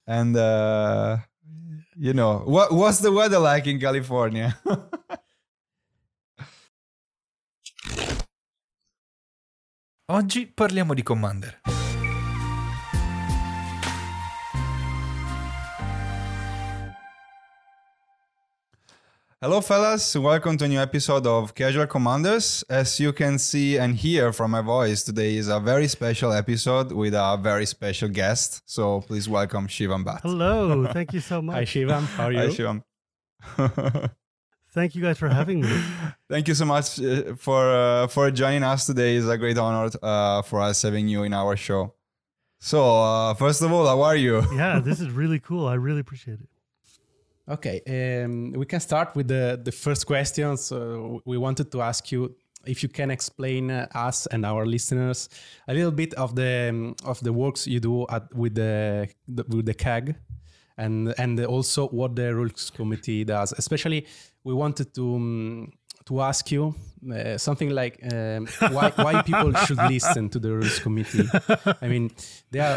And what's the weather like in California? Oggi parliamo di Commander. Hello, fellas. Welcome to a new episode of Casual Commanders. As you can see and hear from my voice, today is a very special episode with a very special guest. So please welcome Shivam Bhatt. Hello. Thank you so much. Hi, Shivam. How are you? Hi, Shivam. Thank you guys for having me. Thank you so much for joining us today. It's a great honor for us having you in our show. So, first of all, how are you? Yeah, this is really cool. I really appreciate it. Okay, we can start with the first question. So we wanted to ask you if you can explain us and our listeners a little bit of the works you do with the CAG, and also what the rules committee does. Especially, we wanted to ask you something like why people should listen to the rules committee. I mean, they are.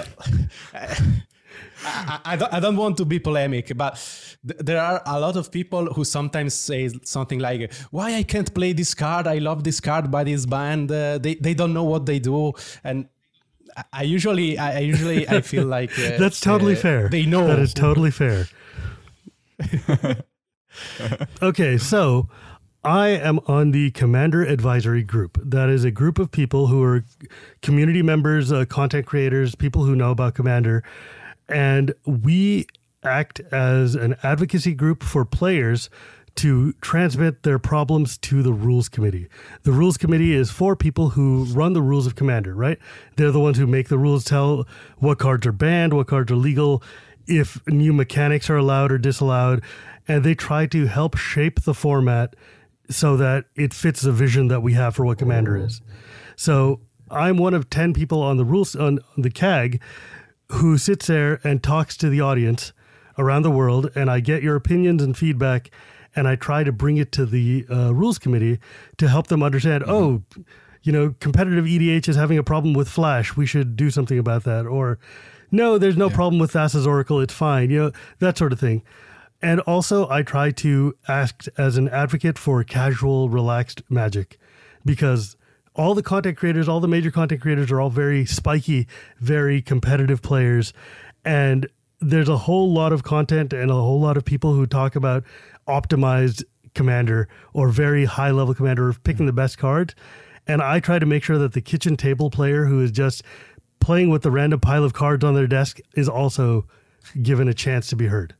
I don't want to be polemic, but there are a lot of people who sometimes say something like, why I can't play this card? I love this card by this band. They don't know what they do. And I usually feel like that's totally fair. They know. That is totally fair. Okay, so I am on the Commander Advisory Group. That is a group of people who are community members, content creators, people who know about Commander. And we act as an advocacy group for players to transmit their problems to the rules committee. The rules committee is for people who run the rules of Commander, right? They're the ones who make the rules, tell what cards are banned, what cards are legal, if new mechanics are allowed or disallowed. And they try to help shape the format so that it fits the vision that we have for what Commander is. So I'm one of 10 people on the rules, on the CAG, who sits there and talks to the audience around the world, and I get your opinions and feedback, and I try to bring it to the rules committee to help them understand, competitive EDH is having a problem with Flash. We should do something about that. Or, no, there's no problem with Thassa's Oracle. It's fine. That sort of thing. And also, I try to act as an advocate for casual, relaxed Magic, because all the content creators, all the major content creators are all very spiky, very competitive players. And there's a whole lot of content and a whole lot of people who talk about optimized Commander or very high level Commander, or picking the best cards. And I try to make sure that the kitchen table player who is just playing with the random pile of cards on their desk is also given a chance to be heard.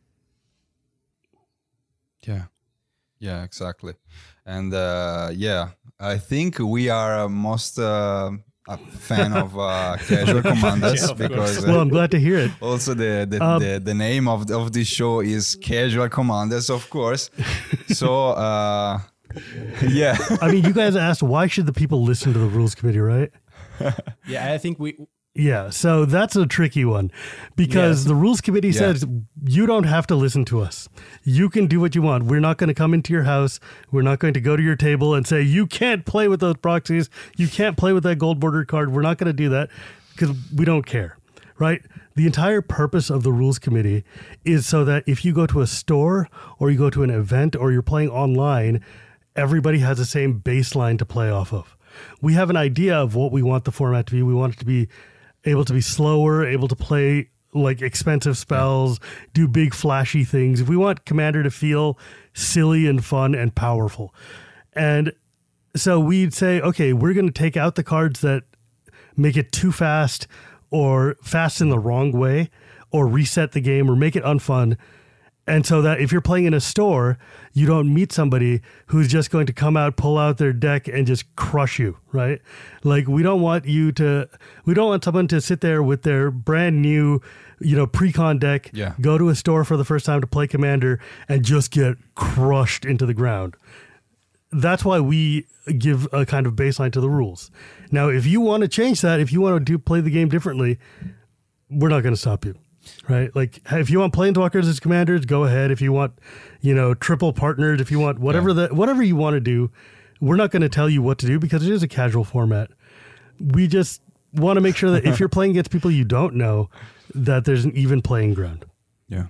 Yeah, exactly. And I think we are most a fan of Casual Commanders because well, I'm glad to hear it. Also, the name of this show is Casual Commanders, of course. So, yeah. I mean, you guys asked why should the people listen to the rules committee, right? Yeah, I think we. Yeah, so that's a tricky one because the rules committee says you don't have to listen to us. You can do what you want. We're not going to come into your house. We're not going to go to your table and say, you can't play with those proxies. You can't play with that gold bordered card. We're not going to do that because we don't care, right? The entire purpose of the rules committee is so that if you go to a store or you go to an event or you're playing online, everybody has the same baseline to play off of. We have an idea of what we want the format to be. We want it to be able to be slower, able to play like expensive spells, do big flashy things. If we want Commander to feel silly and fun and powerful. And so we'd say, okay, we're going to take out the cards that make it too fast or fast in the wrong way or reset the game or make it unfun. And so that if you're playing in a store, you don't meet somebody who's just going to come out, pull out their deck and just crush you, right? Like we don't want someone to sit there with their brand new, pre-con deck, go to a store for the first time to play Commander and just get crushed into the ground. That's why we give a kind of baseline to the rules. Now, if you want to change that, if you want to play the game differently, we're not going to stop you. Right? Like if you want planeswalkers as commanders, go ahead. If you want, triple partnered, if you want whatever you want to do, we're not going to tell you what to do because it is a casual format. We just want to make sure that if you're playing against people you don't know, that there's an even playing ground. Yeah.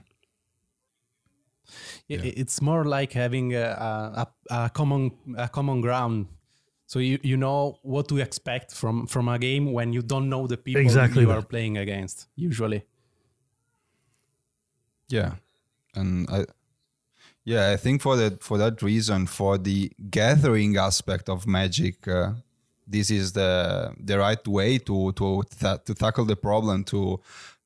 It's more like having a common ground. So you know what to expect from a game when you don't know the people Exactly you that. are playing against, usually. Yeah, and I think for that reason, for the gathering aspect of Magic, this is the right way to tackle the problem, to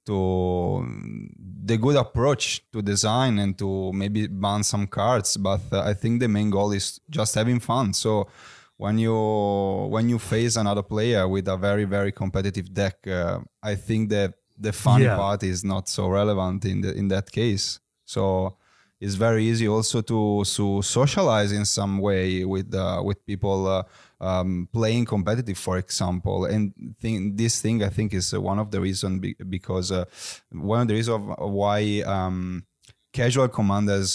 the good approach to design and to maybe ban some cards. But I think the main goal is just having fun. So when you face another player with a very, very competitive deck, I think that the funny part is not so relevant in that case. So it's very easy also to socialize in some way with people playing competitive, for example. And this thing I think is one of the reasons because one of the reasons why Casual Commander is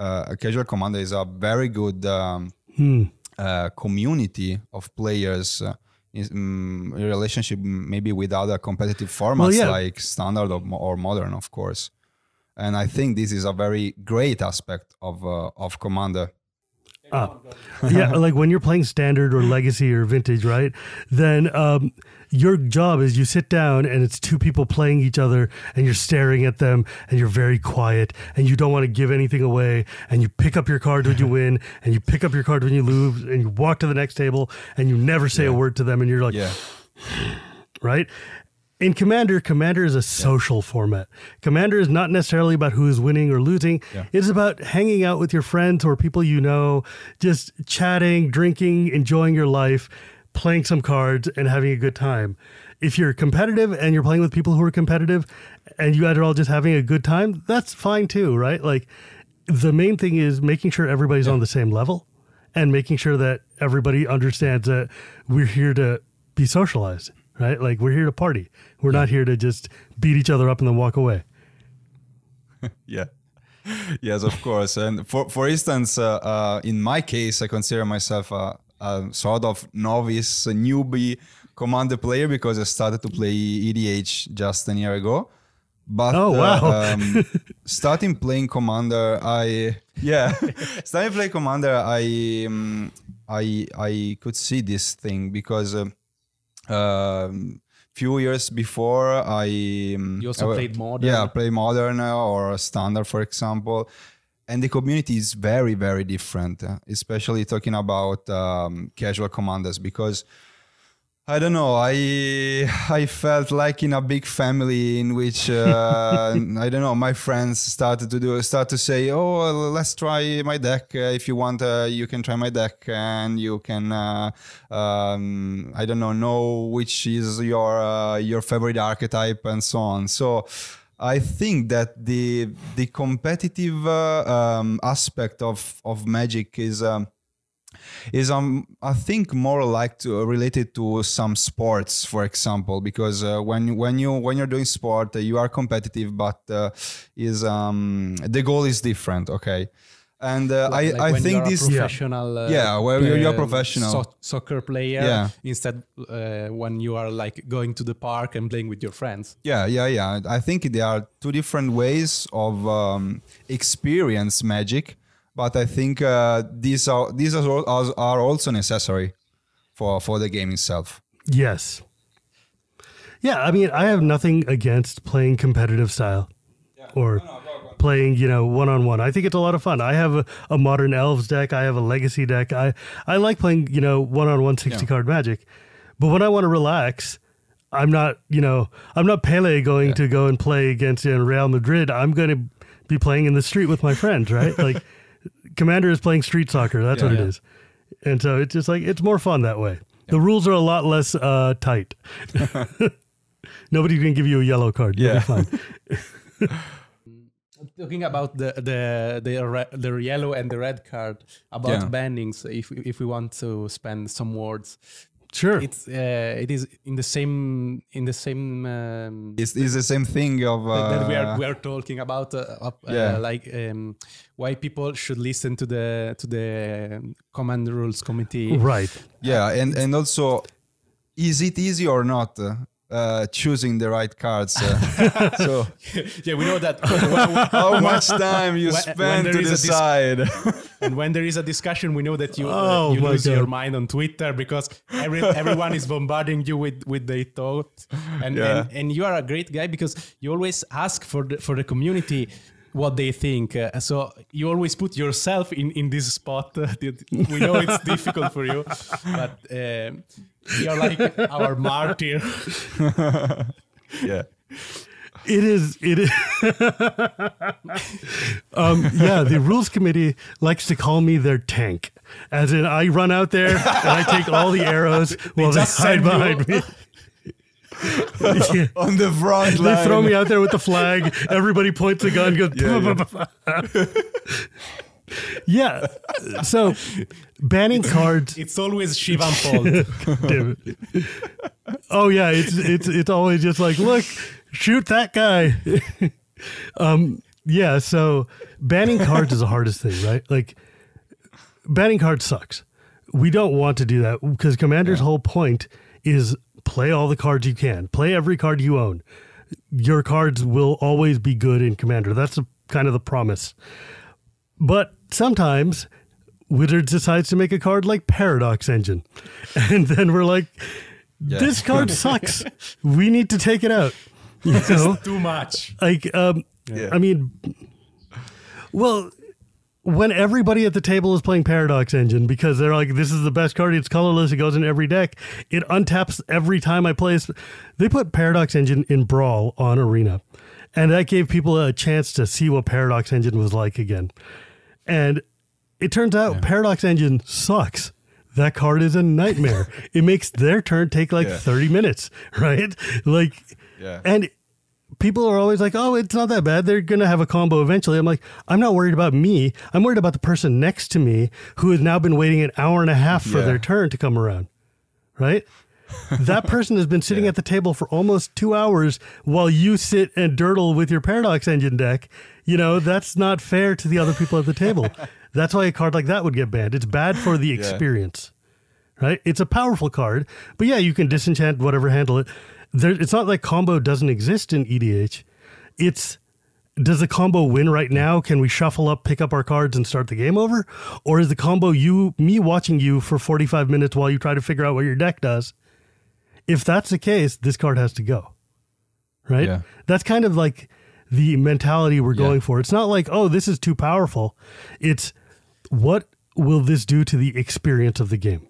a very good community of players in relationship maybe with other competitive formats like Standard or Modern, of course. And I think this is a very great aspect of Commander. Yeah, like when you're playing Standard or Legacy or Vintage, right? Then your job is you sit down and it's two people playing each other and you're staring at them and you're very quiet and you don't want to give anything away and you pick up your card when you win and you pick up your card when you lose and you walk to the next table and you never say a word to them and you're like, right? In Commander is a social format. Commander is not necessarily about who is winning or losing. Yeah. It's about hanging out with your friends or people you know, just chatting, drinking, enjoying your life, playing some cards, and having a good time. If you're competitive and you're playing with people who are competitive and you guys are all just having a good time, that's fine too, right? Like the main thing is making sure everybody's on the same level and making sure that everybody understands that we're here to be socialized. Right? Like we're here to party. We're not here to just beat each other up and then walk away. Yeah. Yes, of course. And for instance, in my case, I consider myself a sort of novice, a newbie Commander player because I started to play EDH just a year ago. But starting playing Commander, starting playing Commander, I could see this thing because few years before You also played Modern? Yeah, play Modern or Standard, for example. And the community is very, very different, especially talking about casual commanders, because I don't know, I felt like in a big family in which I don't know, my friends start to say, oh, let's try my deck. If you want, you can try my deck, and you can I don't know which is your favorite archetype and so on. So I think that the competitive aspect of Magic is I think more like related to some sports, for example, because when you're doing sport, you are competitive, but the goal is different, okay? And I think this professional, where you're a professional soccer player, instead when you are like going to the park and playing with your friends. Yeah. I think there are two different ways of experience Magic. But I think these are also necessary for the game itself. Yes. Yeah, I mean, I have nothing against playing competitive style or playing, one-on-one. I think it's a lot of fun. I have a Modern Elves deck. I have a Legacy deck. I like playing, one-on-one 60-card Magic. But when I want to relax, I'm not Pele going to go and play against Real Madrid. I'm going to be playing in the street with my friends, right? Like, Commander is playing street soccer. That's what it is. And so it's just like, it's more fun that way. The rules are a lot less tight. Nobody can give you a yellow card. You'll be fine. Talking about the yellow and the red card, about bannings, if we want to spend some words. Sure. It is in the same It's the same thing of that we are talking about why people should listen to the Command Rules Committee. Right. Yeah, and also, is it easy or not? choosing the right cards. So Yeah, we know that. how much time you spend to decide? And when there is a discussion, we know that you Oh you my lose God. your mind on Twitter because everyone is bombarding you with their thoughts. And you are a great guy because you always ask for the community what they think. So you always put yourself in this spot. We know it's difficult for you, but you're like our martyr. Yeah. It is. Yeah, the rules committee likes to call me their tank. As in, I run out there and I take all the arrows while they just hide send you- behind me. Yeah. On the front line. They throw me out there with the flag. Everybody points a gun, goes. Yeah. So banning cards. It's always Shivan fault. Damn it. Oh yeah, it's always just like, look, shoot that guy. Yeah, so banning cards is the hardest thing, right? Like banning cards sucks. We don't want to do that because Commander's whole point is play all the cards you can. Play every card you own. Your cards will always be good in Commander. That's kind of the promise. But sometimes Wizards decides to make a card like Paradox Engine. And then we're like, this card sucks. We need to take it out. You know? Too much. Like, I mean, well, when everybody at the table is playing Paradox Engine because they're like, this is the best card, it's colorless, it goes in every deck, it untaps every time I play. They put Paradox Engine in Brawl on Arena, and that gave people a chance to see what Paradox Engine was like again. And it turns out Paradox Engine sucks. That card is a nightmare. It makes their turn take like 30 minutes, right? Like, and people are always like, oh, it's not that bad. They're going to have a combo eventually. I'm like, I'm not worried about me. I'm worried about the person next to me who has now been waiting an hour and a half for their turn to come around, right? That person has been sitting at the table for almost 2 hours while you sit and durdle with your Paradox Engine deck. You know, that's not fair to the other people at the table. That's why a card like that would get banned. It's bad for the experience, right? It's a powerful card, but yeah, you can disenchant whatever, handle it. It's not like combo doesn't exist in EDH. It's, does the combo win right now? Can we shuffle up, pick up our cards and start the game over? Or is the combo me watching you for 45 minutes while you try to figure out what your deck does? If that's the case, this card has to go, right? Yeah. That's kind of like the mentality we're going for. It's not like, oh, this is too powerful. It's, what will this do to the experience of the game?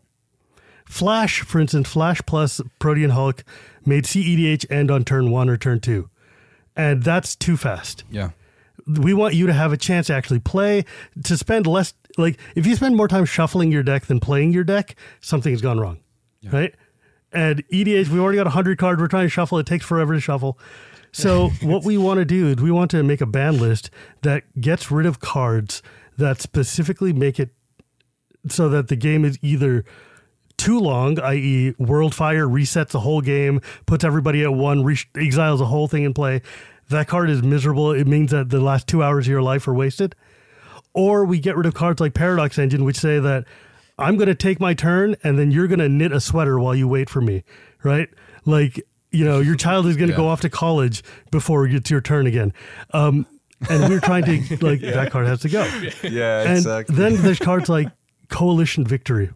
Flash, for instance, Flash plus Protean Hulk made CEDH end on turn 1 or turn 2. And that's too fast. Yeah. We want you to have a chance to actually play, to spend less, like, if you spend more time shuffling your deck than playing your deck, something's gone wrong, right? And EDH, we already got 100 cards, we're trying to shuffle, it takes forever to shuffle. So what we want to do is we want to make a ban list that gets rid of cards that specifically make it so that the game is either too long, i.e. Worldfire resets the whole game, puts everybody at 1, exiles the whole thing in play. That card is miserable. It means that the last 2 hours of your life are wasted. Or we get rid of cards like Paradox Engine, which say that I'm going to take my turn and then you're going to knit a sweater while you wait for me, right? Like, you know, your child is going to go off to college before it's your turn again. And we're trying to, like, that card has to go. Yeah, And exactly. then there's cards like Coalition Victory.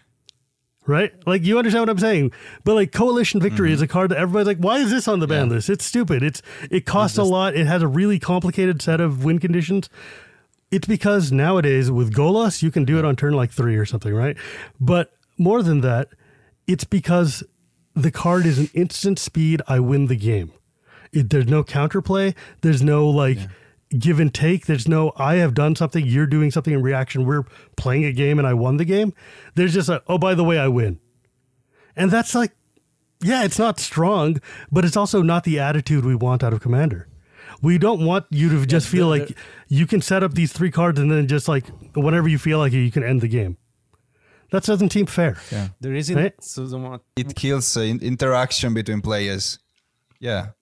Right? Like, you understand what I'm saying? But like Coalition Victory is a card that everybody's like, why is this on the ban list? It's stupid. It costs a lot. It has a really complicated set of win conditions. It's because nowadays with Golos, you can do it on turn like 3 or something, right? But more than that, it's because the card is an instant speed, I win the game. There's no counterplay. There's no like give and take. There's no, I have done something, you're doing something in reaction. We're playing a game and I won the game. There's just a, oh, by the way, I win. And that's like, yeah, it's not strong, but it's also not the attitude we want out of Commander. We don't want you to just feel like you can set up these 3 cards and then just like, whenever you feel like it, you can end the game. That doesn't seem fair. Yeah. There isn't Right? so much. It kills interaction between players. Yeah.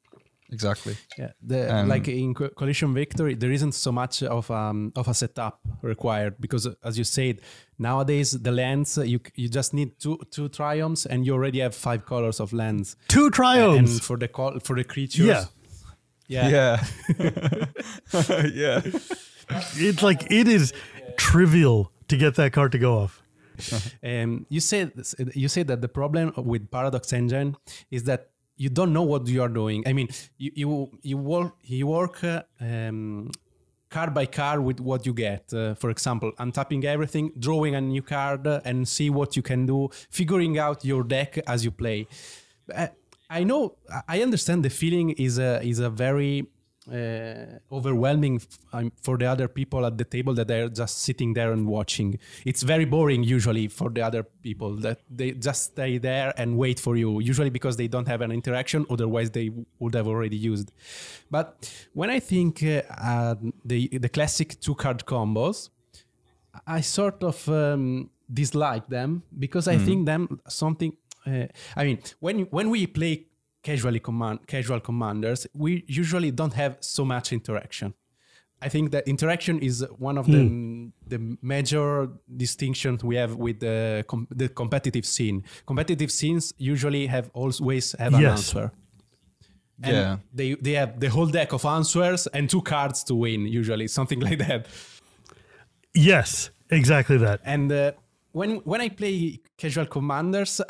Exactly. Yeah, like in Coalition Victory, there isn't so much of a setup required because, as you said, nowadays the lands you just need two triumphs and you already have 5 colors of lands. 2 triumphs and for the creatures. Yeah. Yeah. Yeah. It's like it is trivial to get that card to go off. You said that the problem with Paradox Engine is that you don't know what you are doing. I mean, you work card by card with what you get. For example, untapping everything, drawing a new card, and see what you can do, figuring out your deck as you play. I know, I understand the feeling is a very overwhelming for the other people at the table that they're just sitting there and watching. It's very boring usually for the other people that they just stay there and wait for you, usually because they don't have an interaction, otherwise they would have already used. But when I think the classic 2-card combos, I sort of dislike them because I think them something. I mean, when we play casual commanders, we usually don't have so much interaction. I think that interaction is one of the major distinctions we have with the competitive scene. Competitive scenes usually always have an answer. And they have the whole deck of answers and 2 cards to win, usually, something like that. Yes, exactly that. And when I play casual commanders,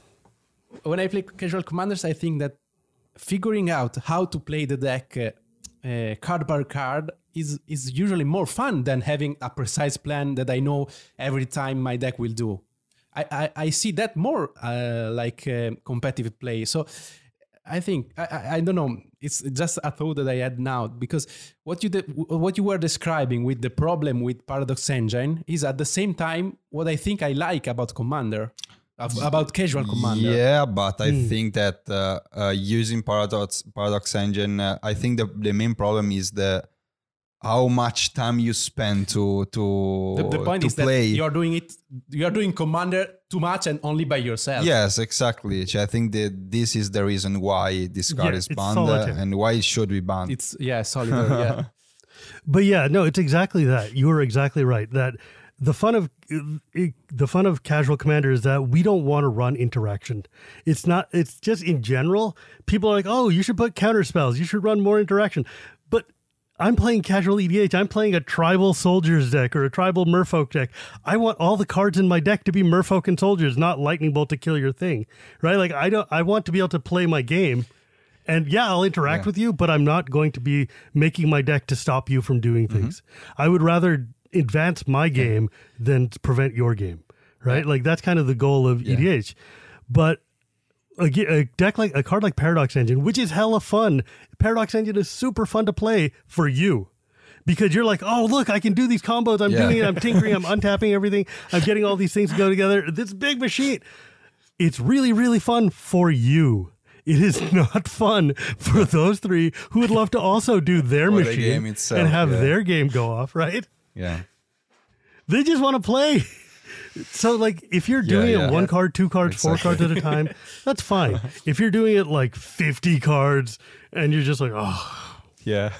I think that figuring out how to play the deck card by card is usually more fun than having a precise plan that I know every time my deck will do. I see that more like competitive play. So I think, I don't know, it's just a thought that I had now, because what you were describing with the problem with Paradox Engine is at the same time what I think I like about Commander. About casual Commander. Yeah, but I think that using Paradox Engine, I think the main problem is how much time you spend to the point is play. That you are doing Commander too much and only by yourself. Yes, exactly. I think that this is the reason why this card is banned and why it should be banned. It's solitaire. Yeah. But yeah, no, it's exactly that. You are exactly right. That the fun of casual Commander is that we don't want to run interaction. It's just in general, people are like, oh, you should put counter spells. You should run more interaction. But I'm playing casual EDH. I'm playing a tribal soldiers deck or a tribal merfolk deck. I want all the cards in my deck to be merfolk and soldiers, not lightning bolt to kill your thing, right? Like I want to be able to play my game. And yeah, I'll interact with you, but I'm not going to be making my deck to stop you from doing things. I would rather advance my game than prevent your game, right? Like that's kind of the goal of EDH. But a card like Paradox Engine, which is hella fun. Paradox Engine is super fun to play for you because you're like, oh, look, I can do these combos. I'm doing it. I'm tinkering. I'm untapping everything. I'm getting all these things to go together. This big machine. It's really, really fun for you. It is not fun for those 3 who would love to also do their machine and have their game go off, right? Yeah. They just want to play. So, like, if you're doing it 1 card, 2 cards, 4 cards at a time, that's fine. If you're doing it like 50 cards and you're just like, oh. Yeah.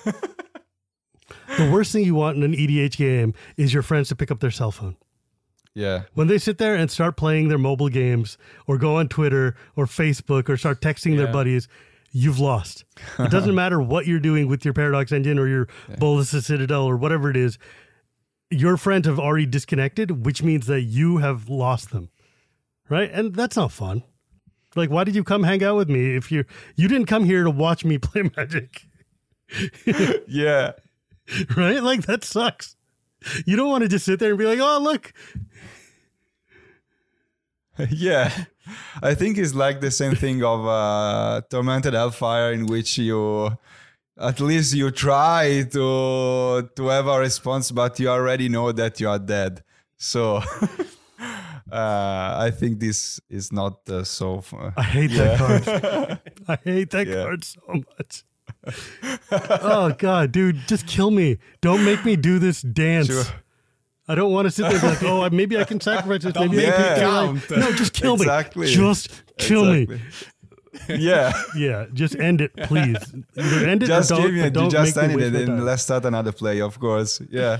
The worst thing you want in an EDH game is your friends to pick up their cell phone. Yeah. When they sit there and start playing their mobile games or go on Twitter or Facebook or start texting their buddies, you've lost. It doesn't matter what you're doing with your Paradox Engine or your Bolus Citadel or whatever it is. Your friends have already disconnected, which means that you have lost them, right? And that's not fun. Like, why did you come hang out with me if you didn't come here to watch me play Magic? Yeah. Right? Like, that sucks. You don't want to just sit there and be like, oh, look. Yeah. I think it's like the same thing of Tormented Hellfire, in which at least you try to have a response, but you already know that you are dead. So I think this is not so fun. I hate that card. I hate that card so much. Oh, God, dude, just kill me. Don't make me do this dance. Sure. I don't want to sit there and be like, oh, maybe I can sacrifice this. Maybe I can kill life. No, just kill me. Just kill me. Yeah. Exactly. Exactly. Just kill me. Yeah. Yeah, just end it, please. Either end it Just or don't, give me but it. don't Just make me end waste it my and time. let's start another play, of course. Yeah.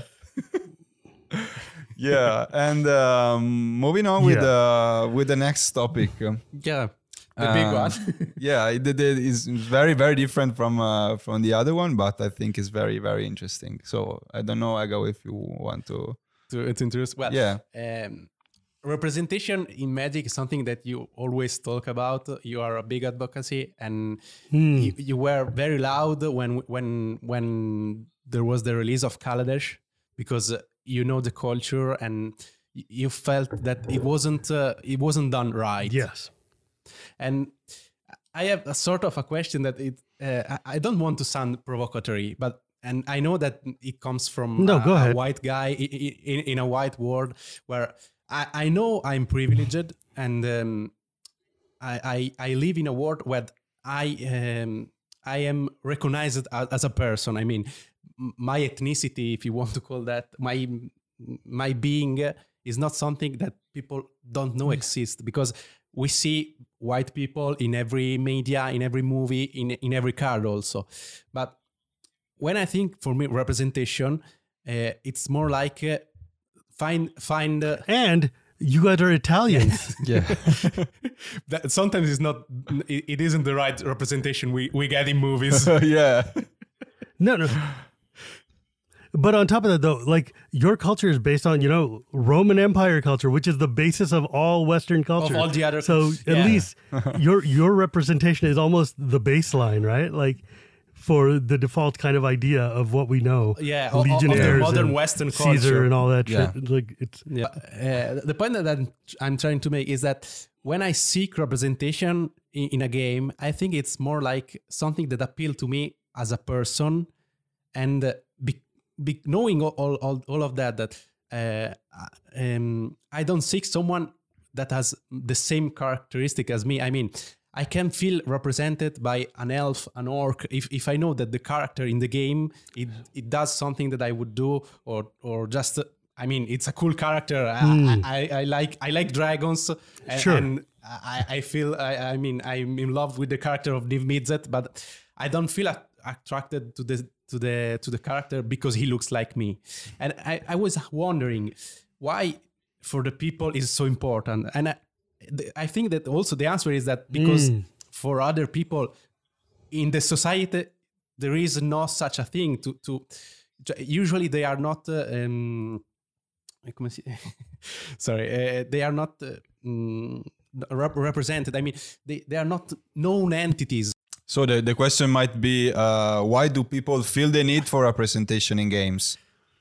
Yeah. And moving on with the next topic. Yeah, the big one. Yeah, it is very, very different from the other one, but I think it's very, very interesting. So I don't know, Aga, if you want to. to introduce. Well, Yeah. Representation in Magic is something that you always talk about. You are a big advocacy, and you were very loud when there was the release of Kaladesh, because you know the culture and you felt that it wasn't done right. Yes. And I have a sort of a question that I don't want to sound provocatory, and I know that it comes from No, go ahead. a white guy in a white world where I know I'm privileged, and I live in a world where I am recognized as a person. I mean, my ethnicity, if you want to call that, my being is not something that people don't know exists, because we see white people in every media, in every movie, in every card also. But when I think, for me, representation, it's more like find. And you guys are Italians. Yeah. That sometimes it's not. It isn't the right representation we get in movies. Yeah. No. But on top of that, though, like your culture is based on, Roman Empire culture, which is the basis of all Western culture. all the other- So at yeah. least your representation is almost the baseline, right? Like for the default kind of idea of what we know. Yeah, of the Legionnaires modern and Western Caesar culture. and all that Yeah. shit. Like it's Yeah. The point that I'm trying to make is that when I seek representation in a game, I think it's more like something that appeals to me as a person, and knowing all of that I don't seek someone that has the same characteristic as me. I mean, I can feel represented by an elf, an orc, if I know that the character in the game it does something that I would do, or just I mean, it's a cool character. I like dragons, and, Sure. and I feel I mean, I'm in love with the character of Niv Mizzet, but I don't feel attracted to the character because he looks like me. And I was wondering why for the people is so important. And I think that also the answer is that because for other people in the society, there is no such a thing to usually they are not sorry, they are not represented. I mean, they are not known entities. So the question might be, why do people feel the need for representation in games?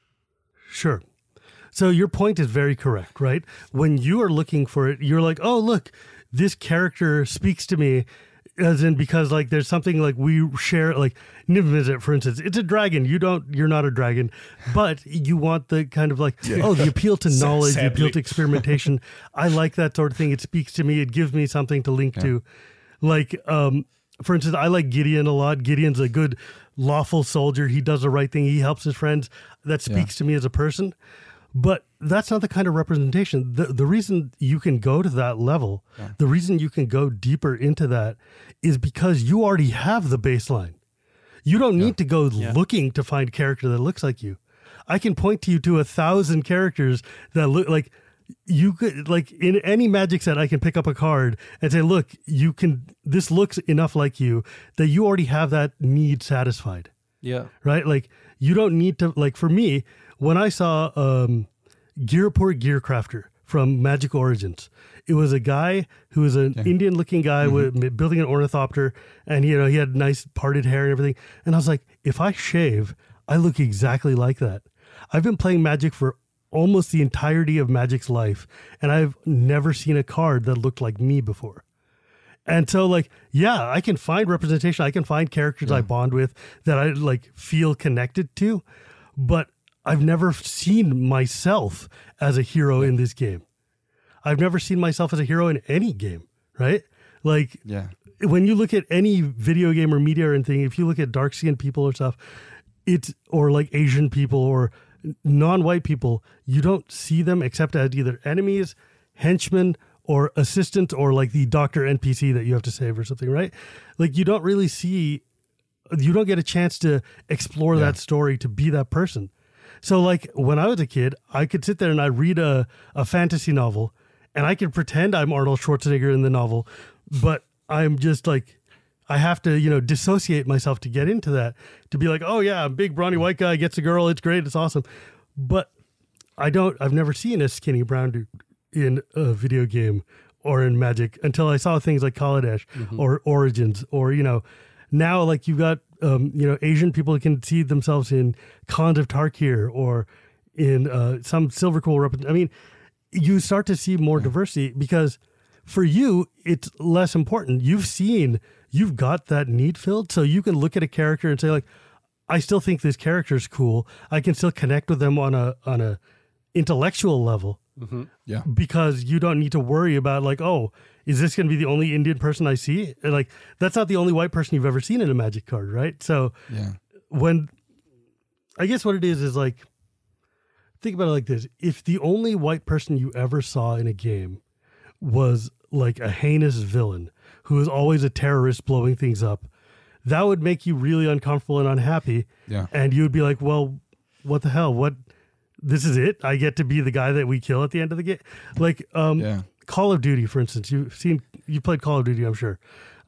Sure. So your point is very correct, right? When you are looking for it, you're like, oh, look, this character speaks to me, as in because like there's something like we share, like Niv Mizzet, for instance, it's a dragon. You're not a dragon, but you want the kind of like, oh, the appeal to knowledge, the appeal to experimentation. I like that sort of thing. It speaks to me. It gives me something to link to. Like, for instance, I like Gideon a lot. Gideon's a good, lawful soldier. He does the right thing. He helps his friends. That speaks to me as a person. But that's not the kind of representation. The reason you can go to that level, the reason you can go deeper into that is because you already have the baseline. You don't need to go looking to find character that looks like you. I can point to you to 1,000 characters that look like you could, like in any Magic set, I can pick up a card and say, look, this looks enough like you that you already have that need satisfied. Yeah. Right? Like you don't need to, like for me, when I saw Girapur Gearcrafter from Magic Origins, it was a guy who was an Indian looking guy with building an ornithopter, and he had nice parted hair and everything. And I was like, if I shave, I look exactly like that. I've been playing Magic for almost the entirety of Magic's life, and I've never seen a card that looked like me before. And so like, yeah, I can find representation. I can find characters I bond with that I like feel connected to, but I've never seen myself as a hero in this game. I've never seen myself as a hero in any game, right? Like when you look at any video game or media or anything, if you look at dark-skinned people or stuff, or like Asian people or non-white people, you don't see them except as either enemies, henchmen, or assistant or like the doctor NPC that you have to save or something, right? Like you don't really see, you don't get a chance to explore that story to be that person. So like when I was a kid, I could sit there and I'd read a fantasy novel and I could pretend I'm Arnold Schwarzenegger in the novel, but I'm just like, I have to, you know, dissociate myself to get into that, to be like, oh yeah, big brawny white guy gets a girl. It's great. It's awesome. But I've never seen a skinny brown dude in a video game or in Magic until I saw things like Kaladesh or Origins, or, you know, now like you've got, you know, Asian people can see themselves in Khans of Tarkir or in some Silverquill. I mean, you start to see more diversity because for you, it's less important. You've got that need filled. So you can look at a character and say like, I still think this character is cool. I can still connect with them on a intellectual level. Yeah. Because you don't need to worry about like, oh, is this going to be the only Indian person I see? And like, that's not the only white person you've ever seen in a Magic card, right? So when, I guess what it is like, think about it like this. If the only white person you ever saw in a game was like a heinous villain who is always a terrorist blowing things up, that would make you really uncomfortable and unhappy. Yeah. And you would be like, well, what the hell? This is it? I get to be the guy that we kill at the end of the game? Like, Call of Duty, for instance. You played Call of Duty, I'm sure.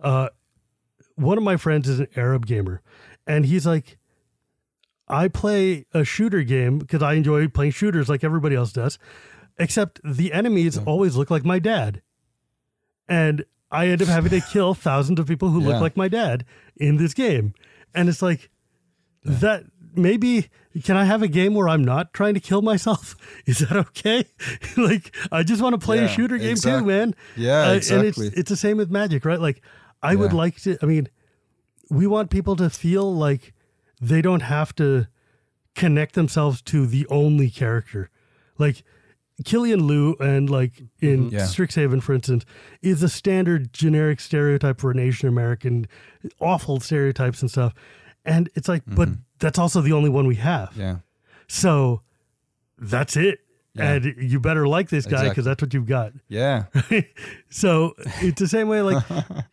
One of my friends is an Arab gamer, and he's like, I play a shooter game because I enjoy playing shooters like everybody else does, except the enemies always look like my dad. And I end up having to kill thousands of people who look like my dad in this game. And it's like, that maybe, can I have a game where I'm not trying to kill myself? Is that okay? Like, I just want to play a shooter game too, man. Yeah, exactly. And it's the same with Magic, right? Like, I would like to, I mean, we want people to feel like they don't have to connect themselves to the only character. Like, Killian Liu and like in Strixhaven, for instance, is a standard generic stereotype for an Asian American, awful stereotypes and stuff. And it's like, but that's also the only one we have. Yeah. So that's it. Yeah. And you better like this guy because that's what you've got. Yeah. So it's the same way, like,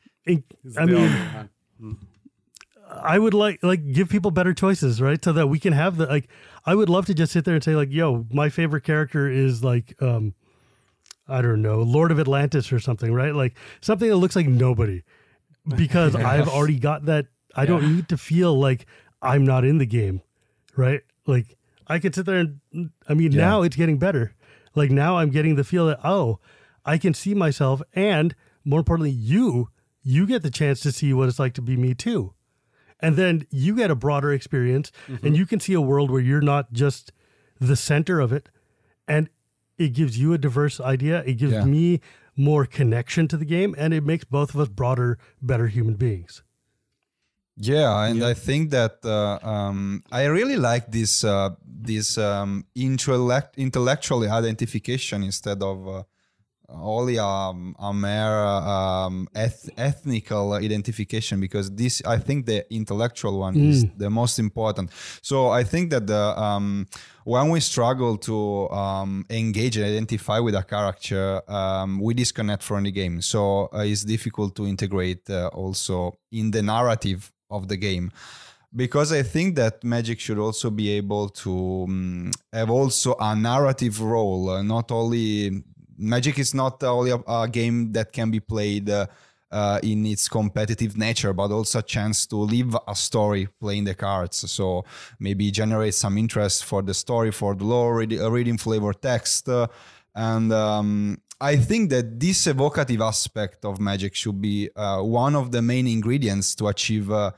I would like give people better choices, right? So that we can have like, I would love to just sit there and say like, yo, my favorite character is like, I don't know, Lord of Atlantis or something, right? Like something that looks like nobody, because I've already got that. I don't need to feel like I'm not in the game, right? Like I could sit there and, I mean, now it's getting better. Like now I'm getting the feel that, oh, I can see myself, and more importantly, you get the chance to see what it's like to be me too. And then you get a broader experience and you can see a world where you're not just the center of it. And it gives you a diverse idea. It gives me more connection to the game, and it makes both of us broader, better human beings. Yeah, and I think that I really like this intellectual identification instead of only a mere ethnical identification, because this, I think the intellectual one is the most important. So I think that when we struggle to engage and identify with a character, we disconnect from the game. So it's difficult to integrate also in the narrative of the game, because I think that Magic should also be able to have also a narrative role. Not only Magic is not only a game that can be played in its competitive nature, but also a chance to live a story playing the cards. So maybe generate some interest for the story, for the lore, reading flavor text, and I think that this evocative aspect of Magic should be one of the main ingredients to achieve the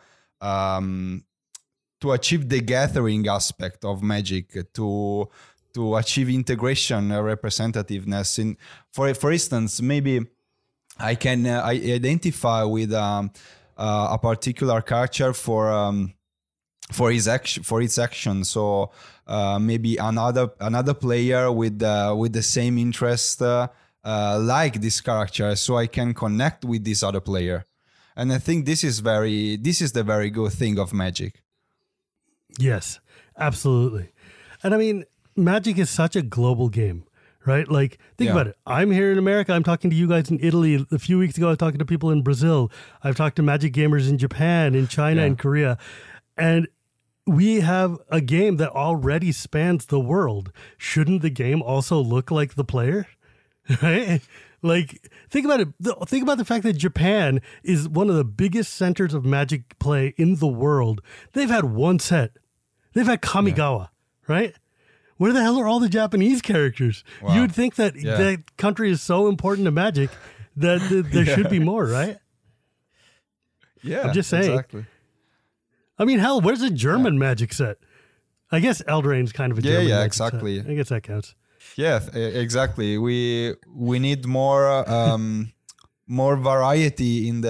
gathering aspect of Magic, to achieve integration, representativeness. For instance, maybe I can identify with a particular character for its action. So maybe another player with the same interest. Like this character, so I can connect with this other player, and I think this is the very good thing of Magic. Yes, absolutely. And I mean, Magic is such a global game, right? Like, think Yeah. about it. I'm here in America. I'm talking to you guys in Italy. A few weeks ago, I was talking to people in Brazil. I've talked to Magic gamers in Japan, in China, Yeah. in Korea. And we have a game that already spans the world. Shouldn't the game also look like the player? Right? Like, think about it. Think about the fact that Japan is one of the biggest centers of Magic play in the world. They've had one set. They've had Kamigawa, right? Where the hell are all the Japanese characters? Wow. You would think that Yeah. that country is so important to Magic that there should be more, right? Yeah, I'm just saying. Exactly. I mean, hell, where's a German Magic set? I guess Eldraine's kind of a German yeah, Magic exactly. set. I guess that counts. Yeah, exactly. We need more more variety in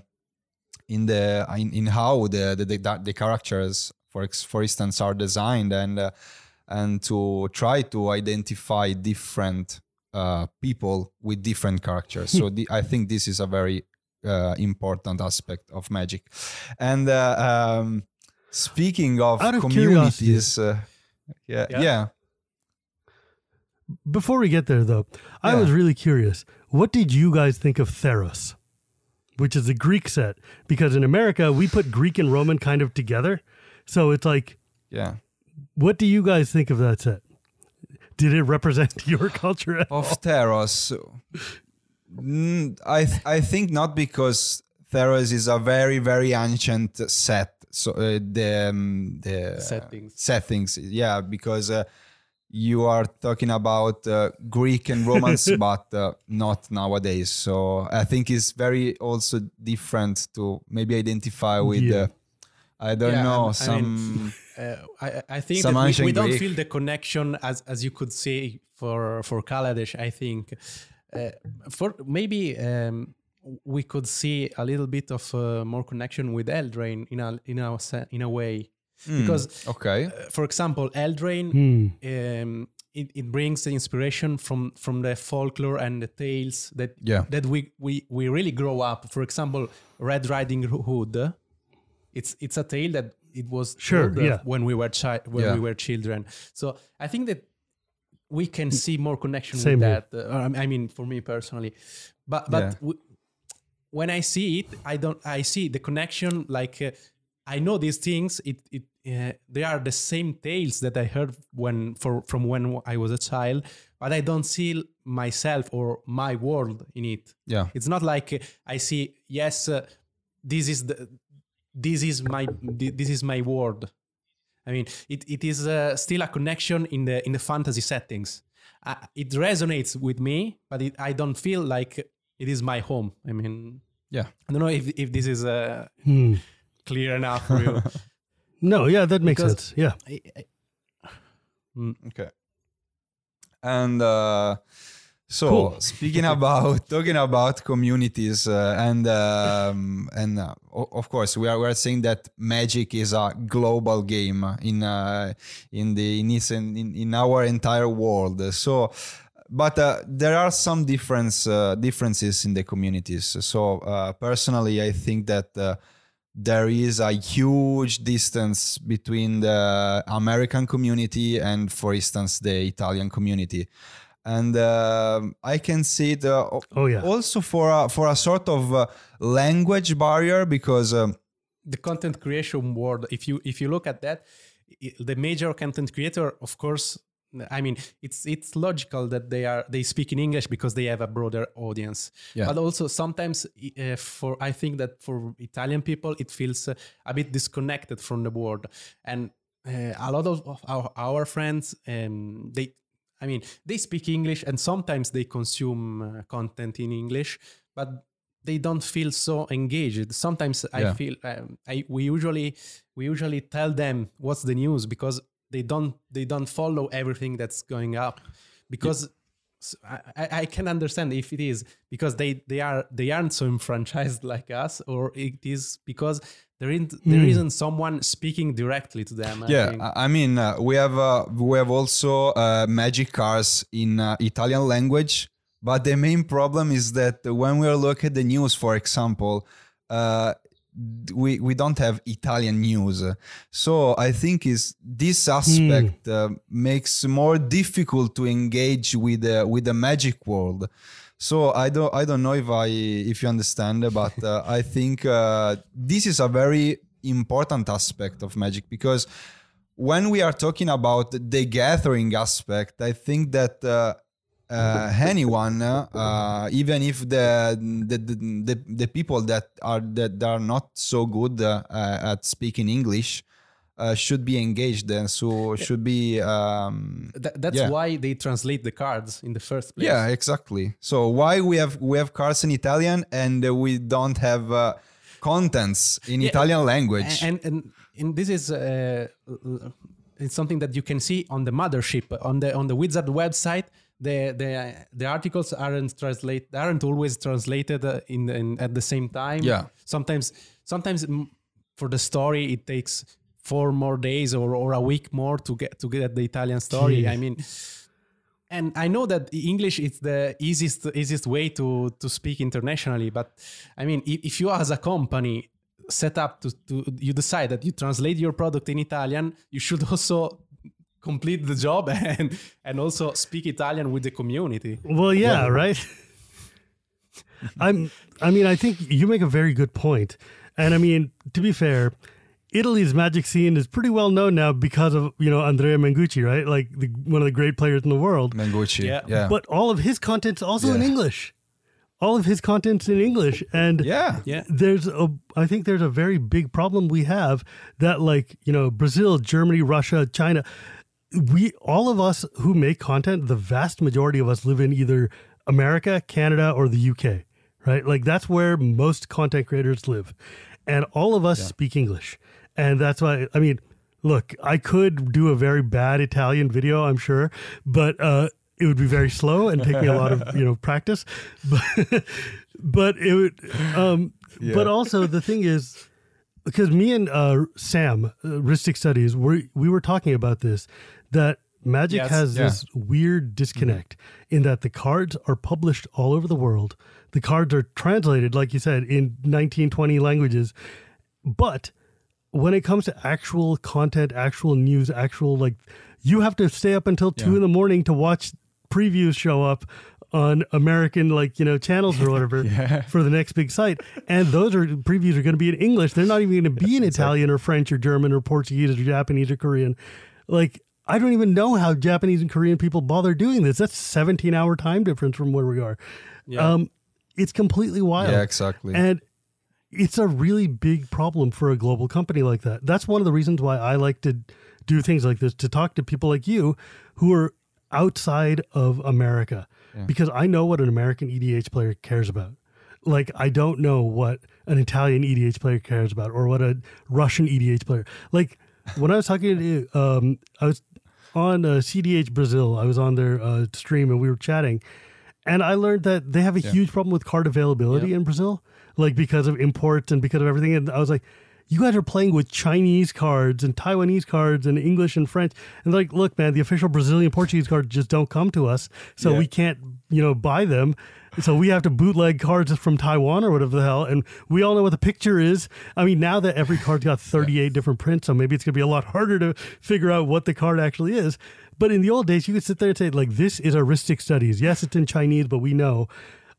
how the characters, for instance, are designed, and to try to identify different people with different characters. So I think this is a very important aspect of Magic. And speaking of Out of communities, Yeah. yeah. Before we get there, though, I Yeah. was really curious. What did you guys think of Theros, which is a Greek set? Because in America, we put Greek and Roman kind of together. So it's like, Yeah. what do you guys think of that set? Did it represent your culture at all? Of Theros, I think not, because Theros is a very, very ancient set. So the settings, yeah, because you are talking about Greek and Romans, but not nowadays. So I think it's very also different to maybe identify with. Yeah. I don't Yeah, know, I mean, I think some that we ancient don't Greek. feel the connection as you could say for Kaladesh. I think for maybe we could see a little bit of more connection with Eldraine in a way, because okay, for example, Eldraine it brings the inspiration from the folklore and the tales that that we really grow up. For example, Red Riding Hood. It's a tale that it was told when we were we were children. So I think that we can see more connection with that. I mean, for me personally, but when I see it, I see the connection. Like I know these things. They are the same tales that I heard from when I was a child, but I don't see myself or my world in it. Yeah, it's not like I see. Yes, this is my world. I mean, it is still a connection in the fantasy settings. It resonates with me, but I don't feel like it is my home. I mean, I don't know if this is clear enough for you. No, yeah, that makes sense. Yeah. Okay. And so speaking about talking about communities and of course we are saying that Magic is a global game in our entire world. So but there are some differences in the communities. So personally I think that there is a huge distance between the American community and, for instance, the Italian community. And I can see it also for a sort of language barrier, because the content creation world, if you look at that, the major content creator, of course, I mean, it's logical that they speak in English because they have a broader audience. Yeah. But also sometimes I think that for Italian people, it feels a bit disconnected from the world. And a lot of our friends, they speak English and sometimes they consume content in English, but they don't feel so engaged. Sometimes I feel we usually tell them what's the news, because they don't follow everything that's going up, because I can understand if it is because they aren't so enfranchised like us, or it is because there isn't someone speaking directly to them. I mean we have also Magic cards in Italian language, but the main problem is that when we look at the news, for example, we don't have Italian news. So I think is this aspect makes more difficult to engage with the magic world. So I don't know if you understand, but I think this is a very important aspect of magic, because when we are talking about the gathering aspect, I think that anyone, even if the people that are not so good at speaking English, should be engaged, and so should be. That's why they translate the cards in the first place. Yeah, exactly. So why we have cards in Italian and we don't have contents in Italian language? And this is it's something that you can see on the mothership, on the Wizard website. The articles aren't always translated at the same time. Yeah. Sometimes for the story it takes 4 more days or a week more to get the Italian story. Jeez. I mean, and I know that English is the easiest way to speak internationally, but I mean, if you as a company set up to you decide that you translate your product in Italian, you should also complete the job and also speak Italian with the community. Well, yeah, right. I mean, I think you make a very good point. And I mean, to be fair, Italy's magic scene is pretty well known now because of, Andrea Mengucci, right? Like one of the great players in the world. Mengucci, yeah. But all of his content's also in English. All of his content's in English. And I think there's a very big problem we have that, like, Brazil, Germany, Russia, China, all of us who make content, the vast majority of us live in either America, Canada, or the UK, right? Like that's where most content creators live. And all of us speak English. And that's why, I mean, look, I could do a very bad Italian video, I'm sure, but it would be very slow and take me a lot of, practice. But it would, but also the thing is, because me and Sam, Ristic Studies, we were talking about this, that Magic has this weird disconnect in that the cards are published all over the world. The cards are translated, like you said, in 19, 20 languages. But when it comes to actual content, actual news, you have to stay up until 2 a.m. to watch previews show up on American, channels or whatever for the next big site. And those previews are going to be in English. They're not even going to be in Italian or French or German or Portuguese or Japanese or Korean. Like, I don't even know how Japanese and Korean people bother doing this. That's 17-hour time difference from where we are. Yeah. It's completely wild. Yeah, exactly. And it's a really big problem for a global company like that. That's one of the reasons why I like to do things like this, to talk to people like you who are outside of America, because I know what an American EDH player cares about. Like, I don't know what an Italian EDH player cares about or what a Russian EDH player. Like, when I was talking to you, I was on CDH Brazil. I was on their stream and we were chatting. And I learned that they have a huge problem with card availability in Brazil, like because of imports and because of everything. And I was like, you guys are playing with Chinese cards and Taiwanese cards and English and French. And they're like, look, man, the official Brazilian Portuguese cards just don't come to us. So we can't, buy them. So we have to bootleg cards from Taiwan or whatever the hell. And we all know what the picture is. I mean, now that every card's got 38 different prints, so maybe it's going to be a lot harder to figure out what the card actually is. But in the old days, you could sit there and say, like, this is Ristic Studies. Yes, it's in Chinese, but we know.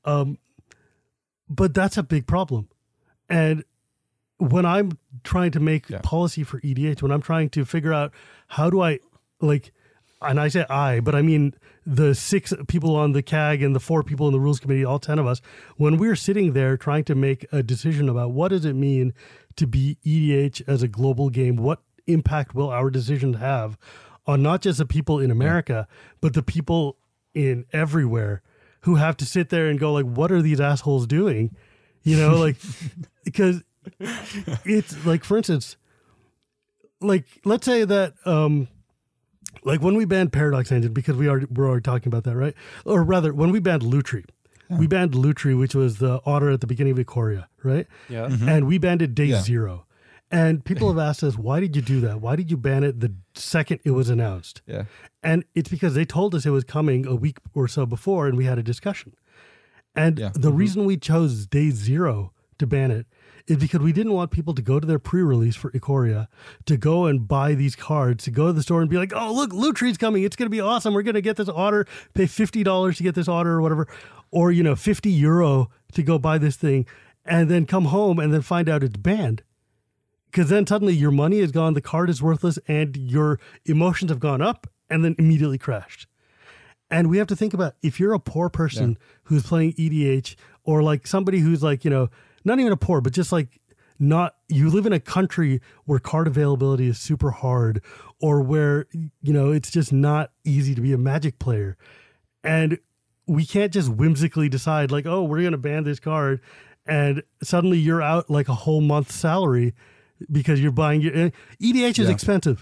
But that's a big problem. And when I'm trying to make policy for EDH, when I'm trying to figure out how do I, and I say I, but I mean the 6 people on the CAG and the 4 people in the rules committee, all 10 of us, when we're sitting there trying to make a decision about what does it mean to be EDH as a global game, what impact will our decisions have on not just the people in America, but the people in everywhere who have to sit there and go, like, what are these assholes doing? Because it's like, for instance, like, let's say that, like when we banned Paradox Engine, because we're already talking about that, right? Or rather, when we banned Lutri, we banned Lutri, which was the otter at the beginning of Ikoria, right? Yeah. Mm-hmm. And we banned it day 0. And people have asked us, why did you do that? Why did you ban it the second it was announced? Yeah. And it's because they told us it was coming a week or so before, and we had a discussion. And the reason we chose day 0 to ban it is because we didn't want people to go to their pre-release for Ikoria, to go and buy these cards, to go to the store and be like, oh, look, Loot Tree's coming. It's going to be awesome. We're going to get this order, pay $50 to get this order or whatever, or, you know, €50 to go buy this thing, and then come home and then find out it's banned. Because then suddenly your money is gone, the card is worthless, and your emotions have gone up and then immediately crashed. And we have to think about, if you're a poor person who's playing EDH, or like somebody who's like, you know, not even a poor, but just like not, you live in a country where card availability is super hard, or where, you know, it's just not easy to be a Magic player. And we can't just whimsically decide like, oh, we're going to ban this card, and suddenly you're out like a whole month's salary because you're buying your EDH is expensive.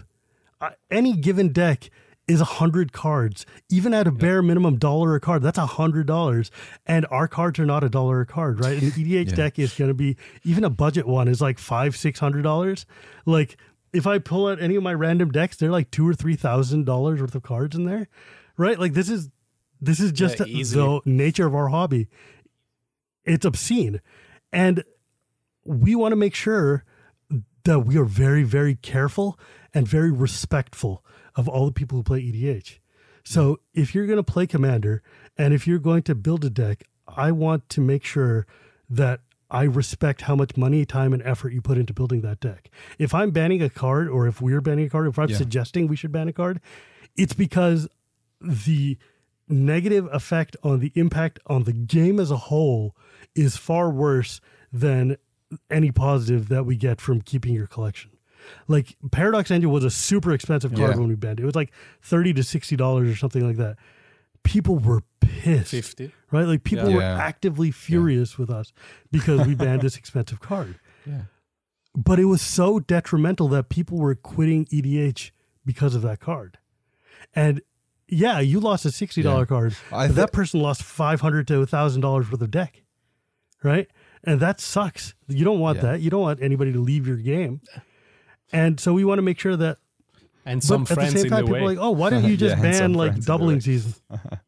Any given deck is 100 cards, even at a bare minimum $1 a card. That's $100, and our cards are not $1 a card, right? An EDH deck is going to be, even a budget one is like $500-600. Like if I pull out any of my random decks, they're like $2,000 or $3,000 worth of cards in there, right? Like this is just the nature of our hobby. It's obscene, and we want to make sure that we are very, very careful and very respectful of all the people who play EDH. So if you're going to play Commander, and if you're going to build a deck, I want to make sure that I respect how much money, time, and effort you put into building that deck. If I'm banning a card, or if we're banning a card, if I'm suggesting we should ban a card, it's because the negative effect on the impact on the game as a whole is far worse than any positive that we get from keeping your collection. Like Paradox Engine was a super expensive card when we banned it. It was like $30 to $60 or something like that. People were pissed, 50, right? Like people were actively furious with us because we banned this expensive card. Yeah. But it was so detrimental that people were quitting EDH because of that card. And yeah, you lost a $60 card. But that person lost $500 to $1,000 worth of deck, right? And that sucks. You don't want that. You don't want anybody to leave your game. And so we want to make sure that. And some at friends the same time, in the people way. are like, oh, why don't you just ban like doubling season? season?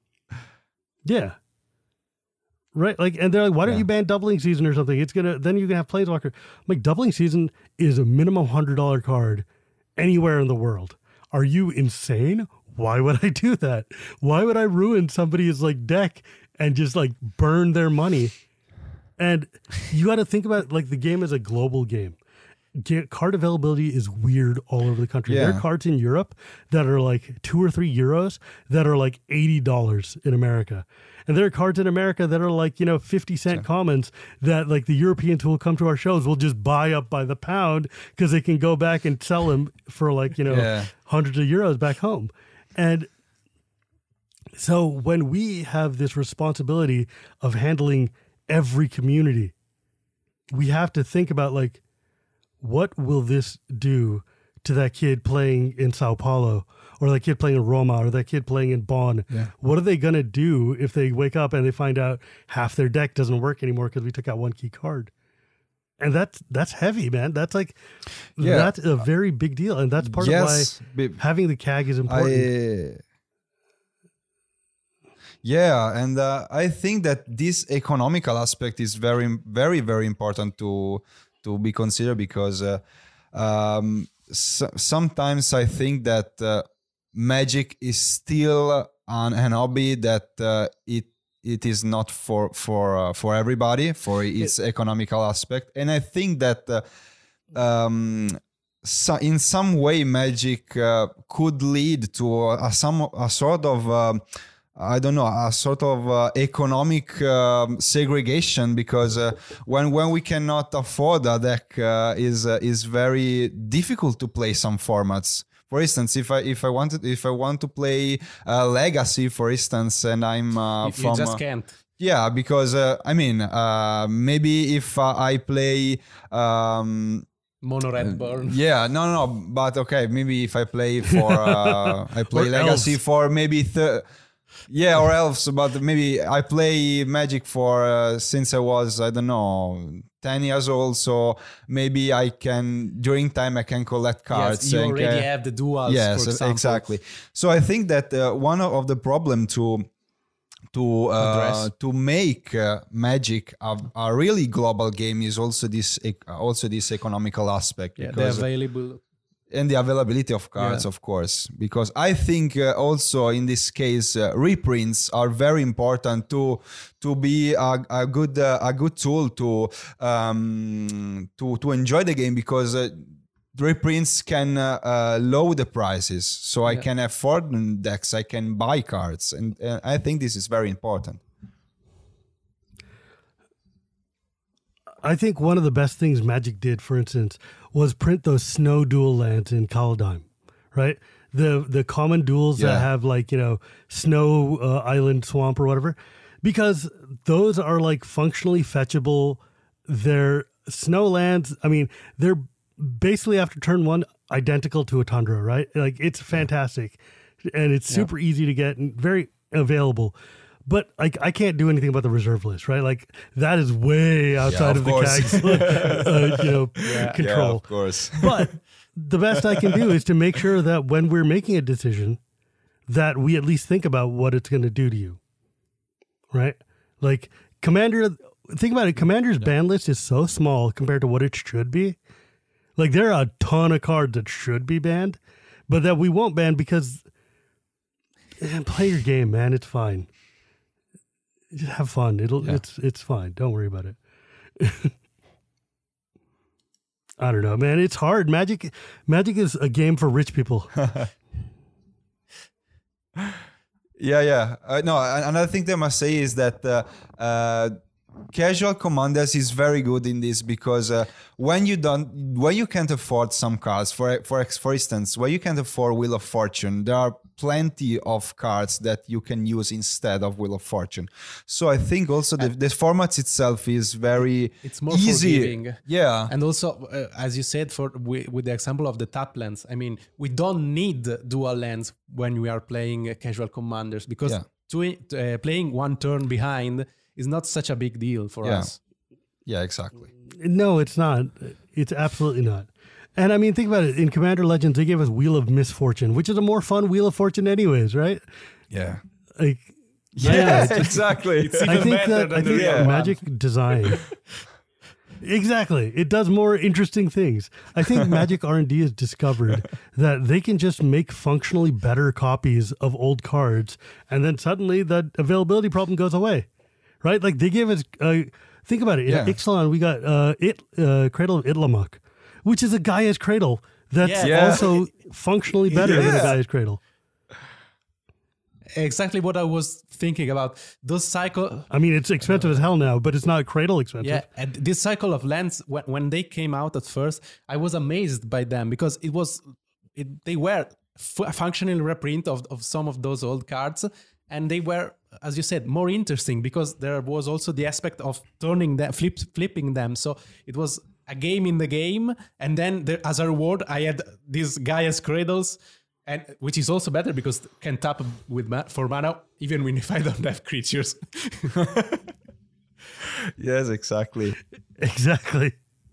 Yeah. Right. Like, and they're like, why don't you ban doubling season or something? It's gonna, then you can have Planeswalker. I'm like, doubling season is a minimum $100 card anywhere in the world. Are you insane? Why would I do that? Why would I ruin somebody's like deck and just like burn their money? And you got to think about like the game is a global game. Card availability is weird all over the country. There are cards in Europe that are like €2 or €3 that are like $80 in America. And there are cards in America that are like, 50-cent commons that like the Europeans who will come to our shows will just buy up by the pound because they can go back and sell them for like, hundreds of euros back home. And so when we have this responsibility of handling every community, we have to think about like, what will this do to that kid playing in Sao Paulo, or that kid playing in Roma, or that kid playing in Bonn? Yeah. What are they going to do if they wake up and they find out half their deck doesn't work anymore because we took out one key card? And that's heavy, man. That's like, that's a very big deal. And that's part of why having the CAG is important. And I think that this economical aspect is very, very, very important to be considered, because sometimes I think that Magic is still an hobby that it is not for everybody, for its economical aspect. And I think that in some way Magic could lead to a sort of a sort of economic segregation, because when we cannot afford a deck, is very difficult to play some formats. For instance, if I want to play Legacy, for instance, and I'm you just can't. Yeah, because maybe if I play Mono Red Burn. No, but okay, maybe if I play for I play Legacy elves. For maybe or elves, but maybe I play Magic for since I was 10 years old, so maybe I can during time I can collect cards. Yes, you already have the duals. Yes, for example. Exactly. So I think that one of the problem to to make Magic a really global game is also this economical aspect. Yeah, they're available. And the availability of cards, of course, because I think also in this case reprints are very important to be a good tool to enjoy the game, because reprints can lower the prices, so I can afford decks, I can buy cards, and I think this is very important. I think one of the best things Magic did, for instance, was print those snow dual lands in Kaldheim, right? The common duels that have like, snow island, swamp, or whatever, because those are like functionally fetchable. They're snow lands. I mean, they're basically after turn one identical to a Tundra, right? Like, it's fantastic, and it's super easy to get and very available. But I can't do anything about the reserve list, right? Like, that is way outside of the CAG's control. Yeah, of course. But the best I can do is to make sure that when we're making a decision, that we at least think about what it's going to do to you, right? Like, Commander, think about it. Commander's ban list is so small compared to what it should be. Like, there are a ton of cards that should be banned, but that we won't ban because play your game, man. It's fine. Just have fun. It's fine. Don't worry about it. I don't know, man. It's hard. Magic is a game for rich people. Yeah. No, another thing that I must say is that Casual Commanders is very good in this, because when you can't afford some cards, for instance, when you can't afford Wheel of Fortune, there are plenty of cards that you can use instead of Wheel of Fortune. So I think also the format itself is it's more easy. Forgiving. Yeah, and also as you said, with the example of the tap lands, I mean, we don't need dual lands when we are playing Casual Commanders, because playing one turn behind is not such a big deal for us. Yeah, exactly. No, it's not. It's absolutely not. And I mean, think about it. In Commander Legends, they gave us Wheel of Misfortune, which is a more fun Wheel of Fortune anyways, right? Yeah. Like, Exactly. I think Magic design... Exactly. It does more interesting things. I think Magic R&D has discovered that they can just make functionally better copies of old cards, and then suddenly that availability problem goes away. Right? Like, they gave us... think about it. In Ixalan, we got Cradle of Itlamok, which is a Gaia's Cradle that's also functionally better than a Gaia's Cradle. Exactly what I was thinking about. Those cycle... I mean, it's expensive as hell now, but it's not Cradle expensive. Yeah, and this cycle of lands, when they came out at first, I was amazed by them, because they were functional reprint of some of those old cards, and they were, as you said, more interesting, because there was also the aspect of turning them, flipping them. So it was a game in the game, and then as a reward, I had these Gaia's Cradles, and which is also better because can tap for mana even if I don't have creatures. Yes, exactly. Exactly.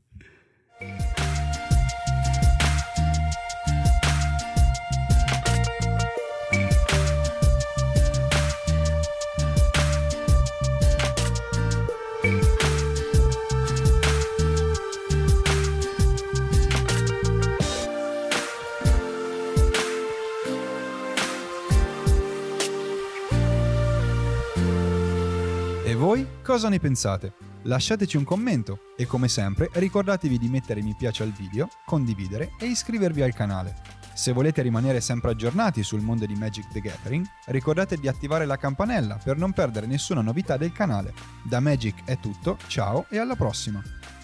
E voi cosa ne pensate? Lasciateci un commento e, come sempre, ricordatevi di mettere mi piace al video, condividere e iscrivervi al canale. Se volete rimanere sempre aggiornati sul mondo di Magic the Gathering, ricordate di attivare la campanella per non perdere nessuna novità del canale. Da Magic è tutto, ciao e alla prossima!